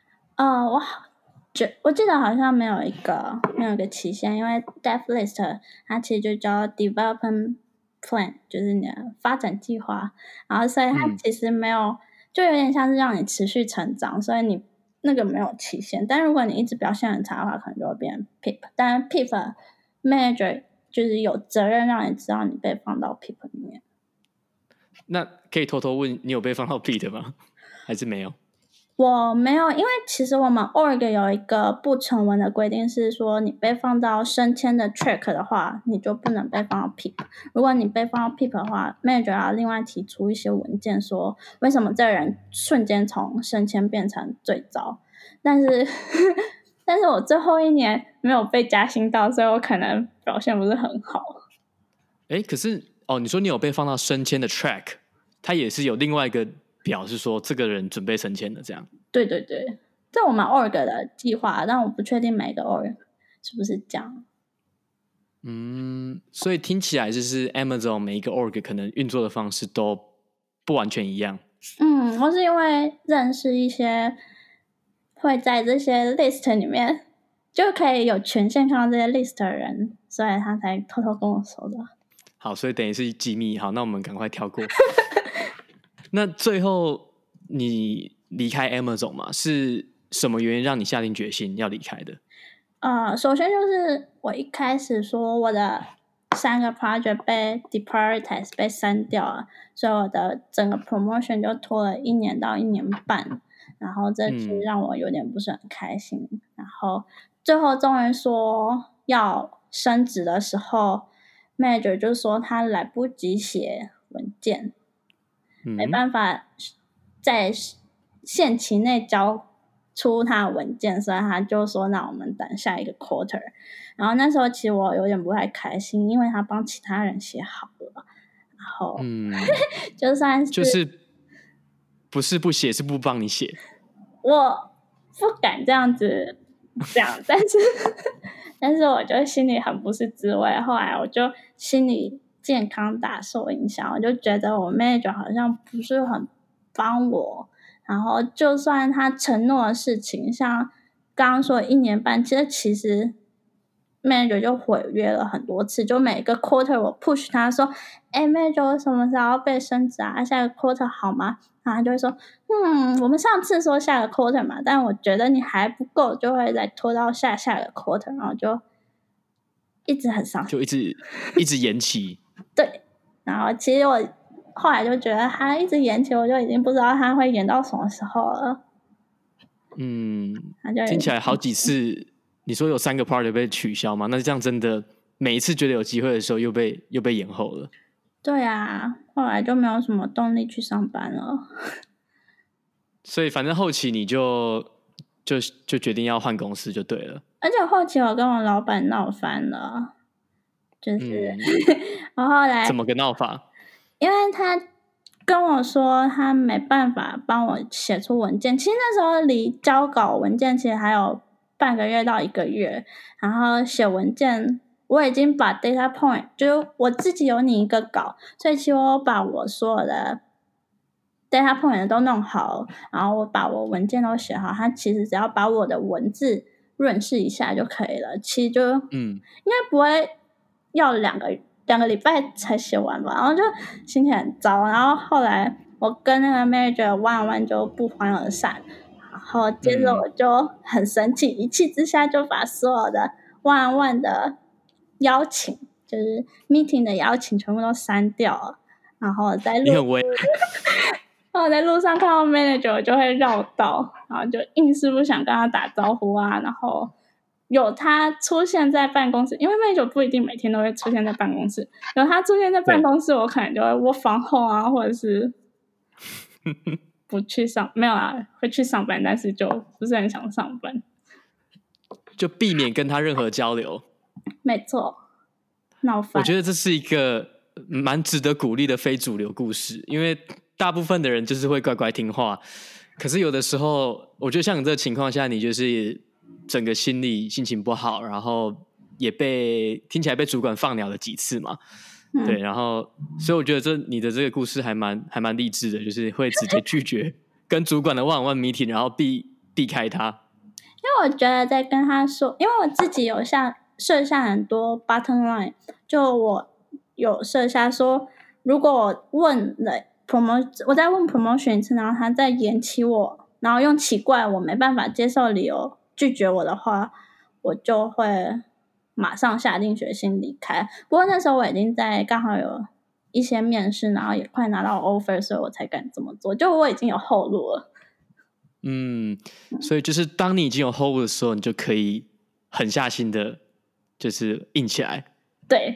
我記得好像沒有一個期限，因為 death list 它其實就叫 development plan， 就是你的發展計劃，然後所以它其實沒有，就有點像是讓你持續成長，所以你那個沒有期限。但如果你一直表現很差的話，可能就會變成 PIP。但 PIP manager 就是有責任讓你知道你被放到 PIP 裡面。 那可以偷偷問，你有被放到 PIP 嗎？還是沒有？ 我沒有，因為其實我們 org 有一個不成文的規定，是說你被放到升遷的 track 的話，你就不能被放到 PIP。如果你被放到 PIP 的話 ，manager 要另外提出一些文件，說為什麼這個人瞬間從升遷變成最糟。但是我最後一年沒有被加薪到，所以我可能表現不是很好。 可是你說你有被放到升遷的 track， 它也是有另外一個表示說這個人準備升遷的這樣。 對，這我們 org 的計劃，但我不確定每個 org 是不是這樣。 所以聽起來就是 Amazon 每一個 org 可能運作的方式都不完全一樣。 我是因為認識一些會在這些 list 裡面就可以有權限看到這些 list 的人，所以他才偷偷跟我說的。 好，所以等於是機密。好，那我們趕快跳過。那最後你離開 Amazon 嘛？是什麼原因讓你下定決心要離開的？ 首先就是我一開始說我的3個 project 被 deprioritize 被刪掉了，所以我的整個 promotion 就拖了1年到1年半，然後這其實讓我有點不是很開心。然後最後終於說要升職的時候，manager 就說他來不及寫文件。沒辦法在限期內交出他的文件，所以他就說那我們等下一個 quarter。然後那時候其實我有點不太開心，因為他幫其他人寫好了，然後就算是就是不是不寫，是不幫你寫。 我不敢這樣子講，但是我就心裡很不是滋味。後來我就心裡健康大受影響，我就覺得我 manager 好像不是很幫我，然後就算他承諾的事情，像剛剛說的1年半，其實 manager 就毀約了很多次，就每個 quarter 我 push 他說manager 我什麼時候要被升職啊，下個 quarter 好嗎？然後他就會說我們上次說下個 quarter 嘛，但我覺得你還不夠，就會再拖到下個 quarter， 然後就一直很傷心， 就一直延期。 對，然後其實我後來就覺得他一直延期，我就已經不知道他會延到什麼時候了。 聽起來好幾次，你說有3個 project 被取消嗎？那這樣真的每一次覺得有機會的時候又被延後了。 對啊，後來就沒有什麼動力去上班了。 所以反正後期你就決定要換公司就对了。 而且後期我跟我老闆鬧翻了，就是我後來怎麼個鬧法？ 因為他跟我說他沒辦法幫我寫出文件，其實那時候離交稿文件其實還有半個月到1個月，然後寫文件我已經把 data point 就是我自己有擬一個稿，所以其實我把我所有的 data point 都弄好，然後我把我文件都寫好，他其實只要把我的文字潤飾一下就可以了，其實就應該不會要2個禮拜才寫完吧，然後就心情很糟。然後後來我跟那個 manager one-on-one 就不歡而散，然後接着我就很生氣，一氣之下就把所有的 one-on-one 的邀請，就是 meeting 的邀請全部都刪掉了。然後在路上看到 manager 我就會繞道，然後就硬是不想跟他打招呼啊，然後有他出現在辦公室，因為manager不一定每天都會出現在辦公室，有他出現在辦公室，我可能就会work from home啊，或者是不去上，沒有啦，會去上班，但是就不是很想上班， 就避免跟他任何交流。 沒錯，鬧翻。 我覺得這是一個蠻值得鼓勵的非主流故事，因為大部分的人就是會乖乖聽話，可是有的時候，我覺得像你這個情況下，你就是整個心情不好，然後也聽起來被主管放鳥了幾次嘛。对，然後所以我覺得你的這個故事還蠻勵志的，就是會直接拒絕跟主管的one-on-one meeting，然後避開他。 因為我覺得在跟他說，因為我自己有設下很多 bottom line， 就我有設下說，如果我問了我再問 promotion 一次，然後他再延期我，然後用奇怪我沒辦法接受的理由拒絕我的話，我就會馬上下定決心離開。不過那時候我已經剛好有一些面試，然後也快拿到 offer， 所以我才敢這麼做。就我已經有後路了。 所以就是當你已經有後路的時候，你就可以狠下心的，就是硬起來。 對，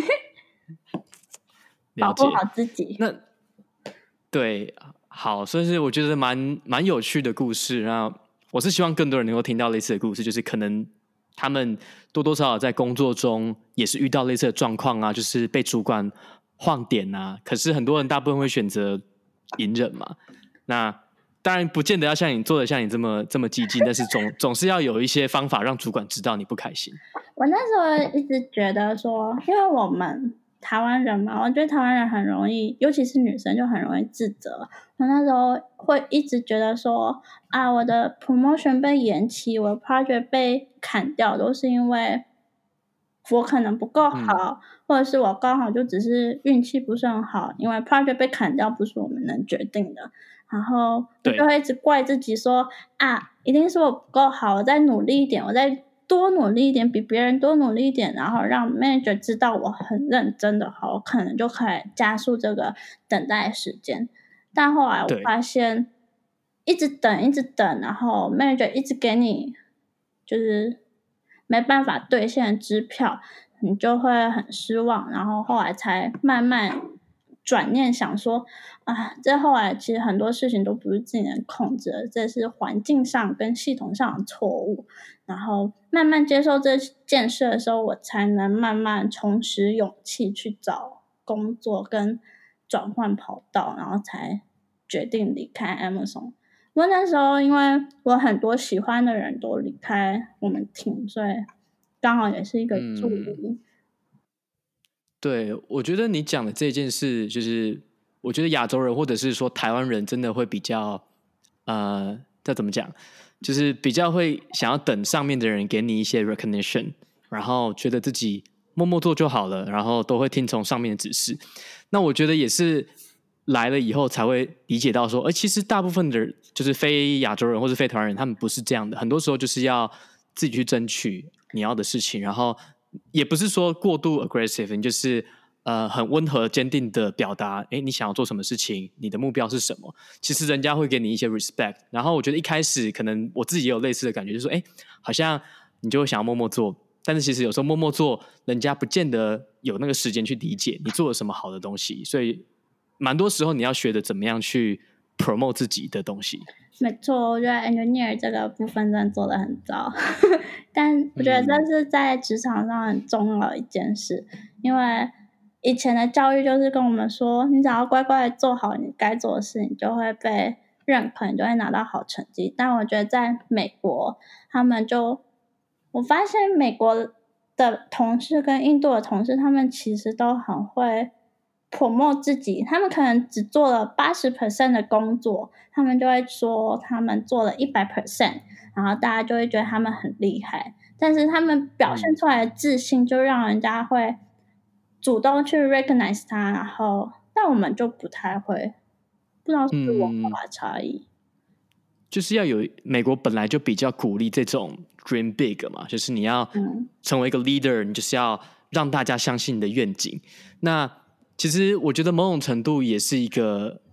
保護好自己。 那对，好，所以是我覺得蠻有趣的故事。然後我是希望更多人能夠聽到類似的故事，就是可能他們多多少少在工作中也是遇到類似的狀況啊，就是被主管晃點啊。可是很多人大部分會選擇隱忍嘛。那當然不見得要像你做的像你這麼激進，但是總是要有一些方法讓主管知道你不開心。 我那時候一直覺得說，因為我們台灣人嘛，我觉得台灣人很容易，尤其是女生就很容易自責。我那時候會一直覺得說，啊，我的 promotion 被延期，我的 project 被砍掉，都是因為我可能不夠好，或者是我剛好就只是運氣不是很好，因為 project 被砍掉不是我們能決定的。然後我就會一直怪自己說，啊，一定是我不夠好，我再努力一點，我再多努力一點，比別人多努力一點，然後讓 manager 知道我很認真的話，我可能就可以加速這個等待時間。但後來我發現，一直等，然後 manager 一直給你就是沒辦法兌現的支票，你就會很失望。然後後來才慢慢轉念想說，啊，這後來其實很多事情都不是自己能控制的，這是環境上跟系統上的錯誤。然後慢慢接受這件事的時候，我才能慢慢重拾勇氣去找工作跟轉換跑道，然後才決定離開 Amazon。不過那時候因為我很多喜歡的人都離開我們 team， 所以剛好也是一個助力。 對，我覺得你講的這件事，就是我覺得亞洲人或者是說台灣人真的會比較這怎麼講，就是比較會想要等上面的人給你一些 recognition， 然後覺得自己默默做就好了，然後都會聽從上面的指示。那我覺得也是來了以後才會理解到說，其實大部分的就是非亞洲人或是非台灣人，他們不是這樣的，很多時候就是要自己去爭取你要的事情，然後也不是說過度 aggressive， 你就是很溫和堅定的表達，你想要做什麼事情，你的目標是什麼，其實人家會給你一些 respect。然後我覺得一開始可能我自己也有類似的感覺，就是說好像你就會想要默默做，但是其實有時候默默做人家不見得有那個時間去理解你做了什麼好的東西，所以蠻多時候你要學的怎麼樣去 promote 自己的東西。沒錯，我覺得 engineer 這個部分真的做得很糟，但我覺得這是在職場上很重要的一件事，因為以前的教育就是跟我們說，你只要乖乖的做好你該做的事，你就會被認可，你就會拿到好成績。但我覺得在美國，我發現美國的同事跟印度的同事，他們其實都很會 promote 自己，他們可能只做了 80% 的工作，他們就會說他們做了 100%， 然後大家就會覺得他們很厲害，但是他們表現出來的自信就讓人家會主動去 recognize 他，然後但我們就不太會，不知道是不是文化差異。 就是要有，美國本來就比較鼓勵這種 dream big 嘛，就是你要成為一個 leader，你就是要讓大家相信你的願景。那其實我覺得某種程度也是一個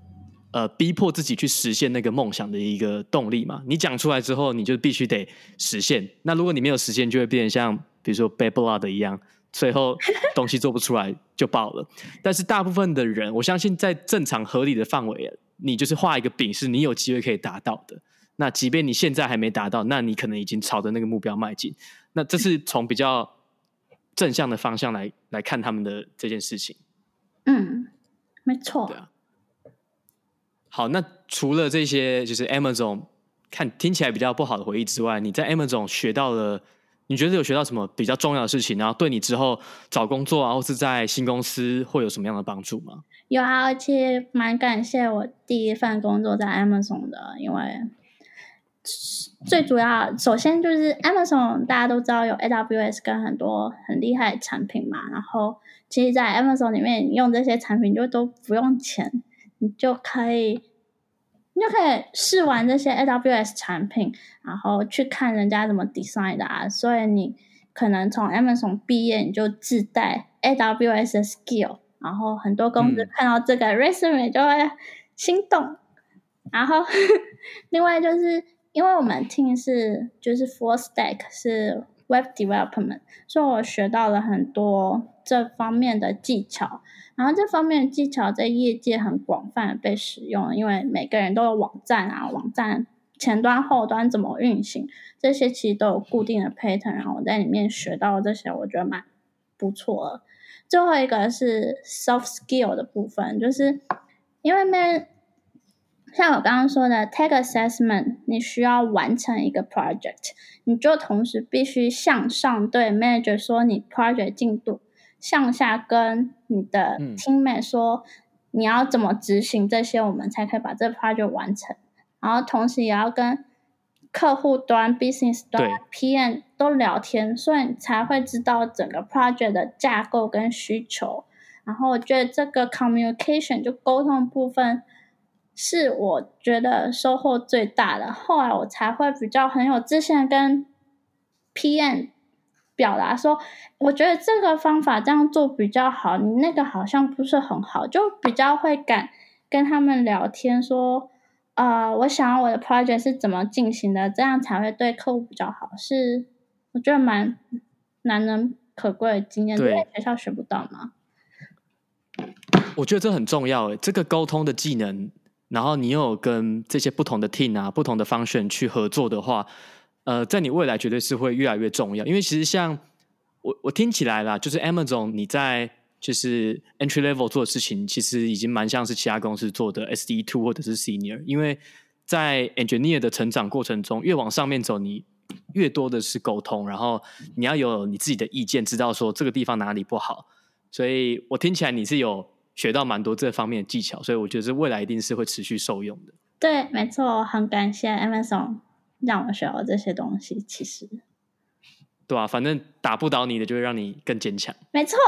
逼迫自己去實現那個夢想的一個動力嘛。你講出來之後，你就必須得實現。那如果你沒有實現，就會變成像比如說 Bad Blood 一樣，最後東西做不出來就爆了。但是大部分的人，我相信在正常合理的範圍，你就是畫一個餅，是你有機會可以達到的。那即便你現在還沒達到，那你可能已經朝着那個目標邁進。那這是從比較正向的方向來看他們的這件事情。 沒錯。 對啊。好，那除了這些就是 Amazon 聽起來比較不好的回憶之外，你在 Amazon 學到了，你覺得有學到什麼比較重要的事情，然後對你之後找工作啊，或是在新公司會有什麼樣的幫助嗎？ 有啊，而且蠻感謝我第一份工作在 Amazon 的，因為最主要首先就是 Amazon 大家都知道有 AWS 跟很多很厲害的產品嘛，然後其實在 Amazon 裡面你用這些產品就都不用錢，你就可以試玩這些 AWS 產品，然後去看人家怎麼 design 的啊，所以你可能從 Amazon 畢業你就自帶 AWS 的 skill， 然後很多公司看到這個 resume 就會心動。然後另外就是因為我們 team 就是 full stack 是 web development， 所以我學到了很多這方面的技巧，然後這方面的技巧在業界很廣泛的被使用，因為每個人都有網站啊，網站前端後端怎麼運行，這些其實都有固定的 pattern， 然後我在裡面學到這些我覺得蠻不錯的。最後一個是 soft skill 的部分，就是因為像我刚剛說的 tech assessment， 你需要完成一個 project， 你就同時必須向上對 manager 說你 project 進度，向下跟你的 teammate 說你要怎麼執行這些，我們才可以把這個 project 完成。然後同時也要跟客戶端 business 端 PM 都聊天，所以你才會知道整個 project 的架構跟需求。然後我覺得這個 communication 就溝通部分是我覺得收穫最大的，後來我才會比較很有自信跟 PM 表達說，我覺得這個方法這樣做比較好，你那個好像不是很好，就比較會敢跟他們聊天說，我想要我的 project 是怎麼進行的，這樣才會對客戶比較好，是我覺得蠻難能可貴的經驗，在學校學不到嗎？ 我覺得這很重要，這個溝通的技能，然後你又有跟這些不同的 team 啊、不同的 function 去合作的話，在你未來絕對是會越來越重要。因為其實像我聽起來啦，就是 Amazon 你在就是 entry level 做的事情，其實已經蠻像是其他公司做的 SDE2 或者是 Senior。因為在 engineer 的成長過程中，越往上面走，你越多的是溝通，然後你要有你自己的意見，知道說這個地方哪裡不好。所以我聽起來你是有學到蠻多這方面的技巧，所以我覺得這未來一定是會持續受用的。 對，沒錯，很感謝 Amazon 讓我學到這些東西。其實， 對啊，反正打不倒你的，就會讓你更堅強。 沒錯。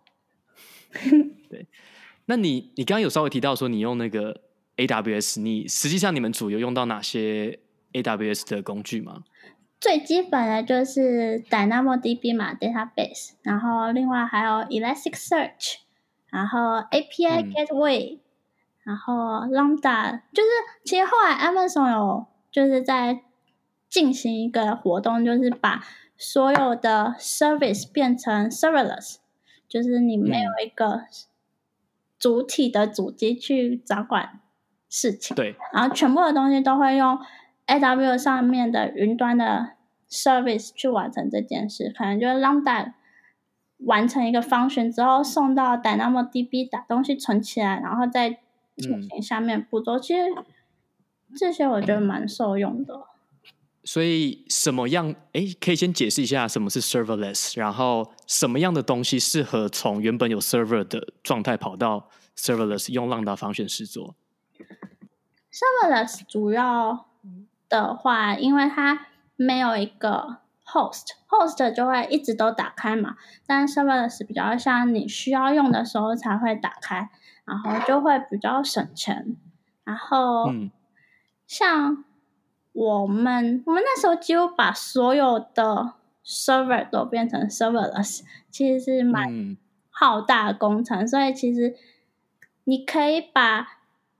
對，那你剛剛有稍微提到說你用那個 AWS， 你實際上你們組有用到哪些 AWS 的工具嗎？ 最基本的就是 DynamoDB 嘛 ，database， 然後另外還有 Elasticsearch， 然後 API Gateway，然後 Lambda， 就是其實後來 Amazon 有就是在進行一個活動，就是把所有的 service 變成 serverless， 就是你沒有一個主體的主機去掌管事情， 對， 然後全部的東西都會用 AWS 上面的雲端的 service 去完成這件事，可能就是 Lambda 完成一個 function 之後送到 DynamoDB 把東西存起來，然後再進行下面步驟。其實這些我覺得蠻受用的。 所以什麼樣？可以先解釋一下什麼是 serverless， 然後什麼樣的東西適合從原本有 server 的狀態跑到 serverless 用 Lambda function 實作。 serverless 主要的話，因為它沒有一個 host 就會一直都打開嘛，但 serverless 比較像你需要用的時候才會打開，然後就會比較省錢。然後像我們那時候幾乎把所有的 server 都變成 serverless， 其實是蠻浩大的工程，所以其實你可以把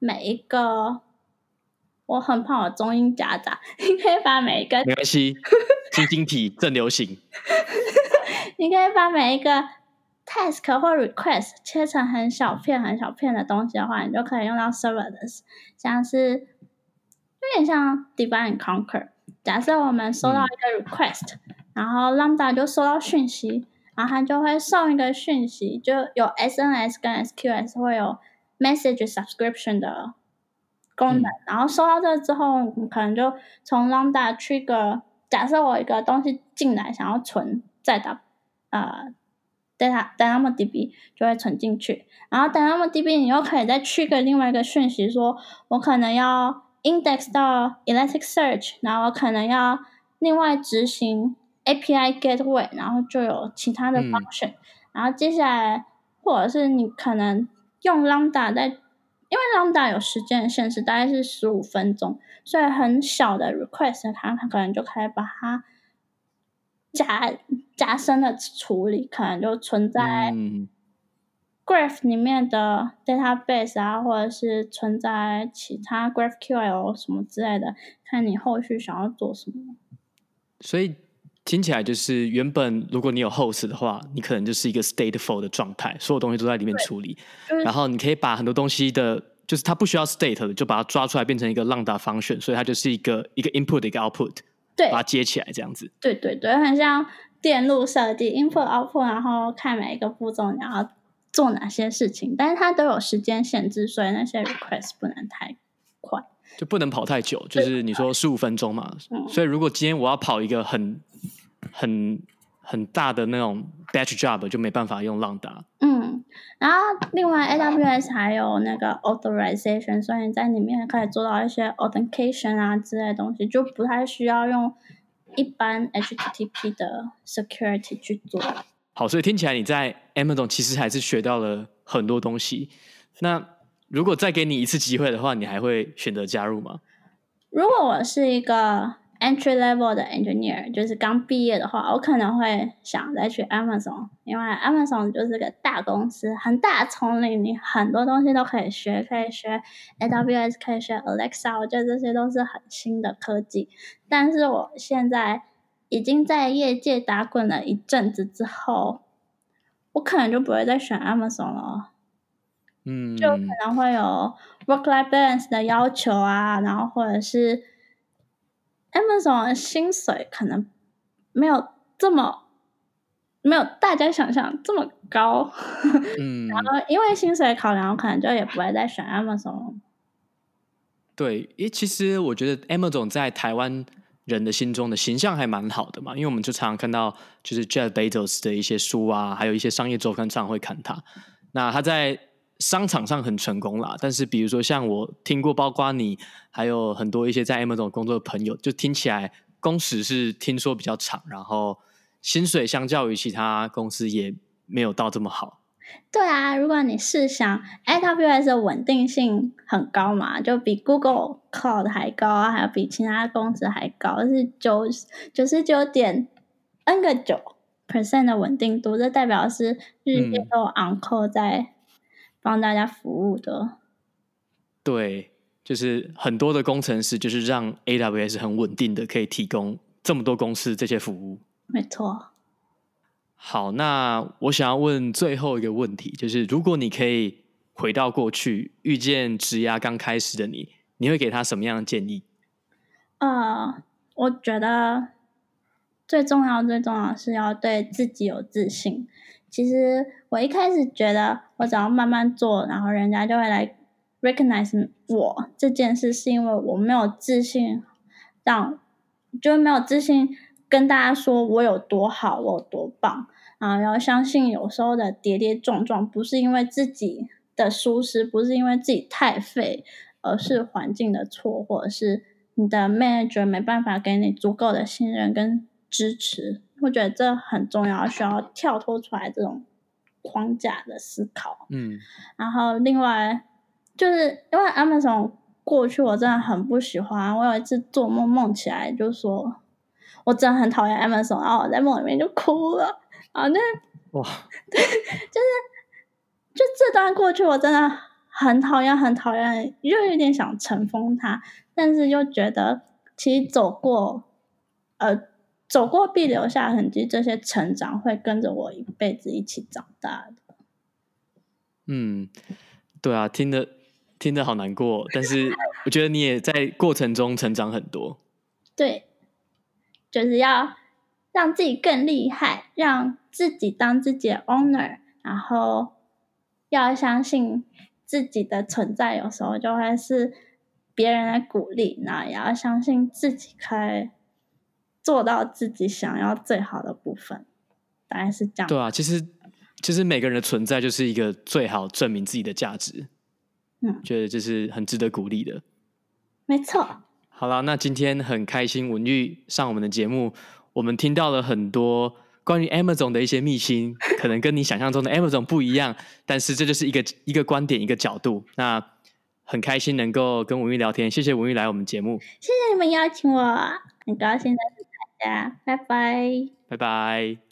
每一個，我很怕我中英夾雜，你可以把每一個沒關係，晶晶體正流行。 你可以把每一個 task 或 request 切成很小片很小片的東西的話，你就可以用到 serverless， 像是有點像 divide and conquer。假設我們收到一個 request，然後 Lambda 就收到訊息，然後它就會送一個訊息，就有 SNS 跟 SQS 會有 message subscription 的功能，然後收到這個之後，你可能就從 Lambda trigger， 假設我一個東西進來想要存在DynamoDB 就會存進去，然後 DynamoDB 你又可以再trigger另外一個訊息，說我可能要 index 到 Elasticsearch， 然後我可能要另外執行 API Gateway， 然後就有其他的 function，然後接下來或者是你可能用 Lambda 因為 Lambda 有時間的限制，大概是15分鐘，所以很小的 request 它可能就可以把它加深的處理，可能就存在 Graph 裡面的 database 啊，或者是存在其他 GraphQL 什麼之類的，看你後續想要做什麼。所以聽起來就是原本如果你有 host 的話，你可能就是一個 stateful 的狀態，所有東西都在裡面處理，然後你可以把很多東西的就是它不需要 state 的，就把它抓出來变成一個 Lambda function， 所以它就是一個 input 一個 output， 對， 把它接起來這樣子。 對對对，很像電路設計 input output， 然後看每一個步驟你要做哪些事情，但是它都有時間限制，所以那些 request 不能太快， 就不能跑太久，就是你說15分鐘嘛，所以如果今天我要跑一个很大的那種 batch job， 就沒辦法用 Lambda。 然後另外 AWS 還有那個 authorization， 所以你在裡面可以做到一些 authentication 啊之類的東西，就不太需要用一般 HTTP 的 security 去做。 好，所以聽起來你在 Amazon 其實還是學到了很多東西。那如果再給你一次機會的話，你還會選擇加入嗎？ 如果我是一個entry level 的 engineer， 就是剛畢業的話，我可能會想再去 Amazon， 因為 Amazon 就是個大公司，很大的叢林，你很多東西都可以學，可以學 AWS， 可以學 Alexa， 我覺得這些都是很新的科技。但是我現在已經在業界打滾了一陣子之後，我可能就不會再選 Amazon 了。就可能會有 work-life balance 的要求啊，然後或者是 Amazon 的薪水可能沒有大家想象這麼高，然後因為薪水考量，我可能就也不會再選 Amazon。 對，因為其實我覺得 Amazon 在台灣人的心中的形象還蠻好的嘛，因為我們就常常看到就是 Jeff Bezos 的一些書啊，還有一些商業週刊常常會看他，那他在商場上很成功啦，但是比如說像我聽過，包括你還有很多一些在 Amazon 工作的朋友，就聽起來工時是聽說比較長，然後薪水相較於其他公司也沒有到這麼好。 對啊，如果你試想 AWS 的穩定性很高嘛，就比 Google Cloud 還高啊，還有比其他公司還高，是99.9% 的穩定度，這代表是日夜都有 on call 在幫大家服務的。 對，就是很多的工程師就是讓 AWS 很穩定的可以提供這麼多公司這些服務。 沒錯。 好，那我想要問最後一個問題，就是如果你可以回到過去，遇見職涯剛開始的你，你會給他什麼樣的建議？ 我覺得最重要的是要對自己有自信。其實我一開始覺得我只要慢慢做，然後人家就會來 recognize 我這件事，是因為我沒有自信，就沒有自信跟大家說我有多好，我有多棒。然後要相信有時候的跌跌撞撞不是因為自己的疏失，不是因為自己太廢，而是環境的錯，或者是你的 manager 沒辦法給你足夠的信任跟支持。我覺得這很重要，需要跳脫出來這種框架的思考。然後另外就是因為 Amazon 過去我真的很不喜歡，我有一次做夢起來就說我真的很討厭 Amazon， 然後我在夢裡面就哭了。哇，對，就這段過去我真的很討厭，很討厭，又有點想塵封它，但是又覺得其實走過必留下痕跡，這些成長會跟着我一輩子一起長大的。 對啊，聽得好難過，但是我覺得你也在過程中成長很多。 對，就是要讓自己更厲害，讓自己當自己的 owner， 然後要相信自己的存在，有時候就會是別人的鼓勵，那也要相信自己可以做到自己想要最好的部分，大概是這樣。 對啊，其實每個人的存在就是一個最好證明自己的價值。覺得這是很值得鼓勵的。 沒錯。 好啦，那今天很開心文玉上我們的節目，我們聽到了很多關於 Amazon 的一些祕辛，可能跟你想象中的 Amazon 不一樣，但是這就是一個觀點，一個角度。那很開心能夠跟文玉聊天，謝謝文玉來我們節目。 謝謝你們邀請我，很高興認識大家，拜拜。 拜拜。